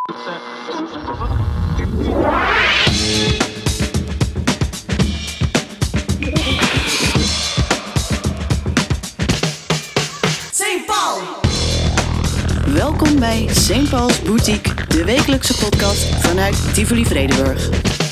St. Paul. Welkom bij St. Paul's Boutique, de wekelijkse podcast vanuit Tivoli Vredenburg.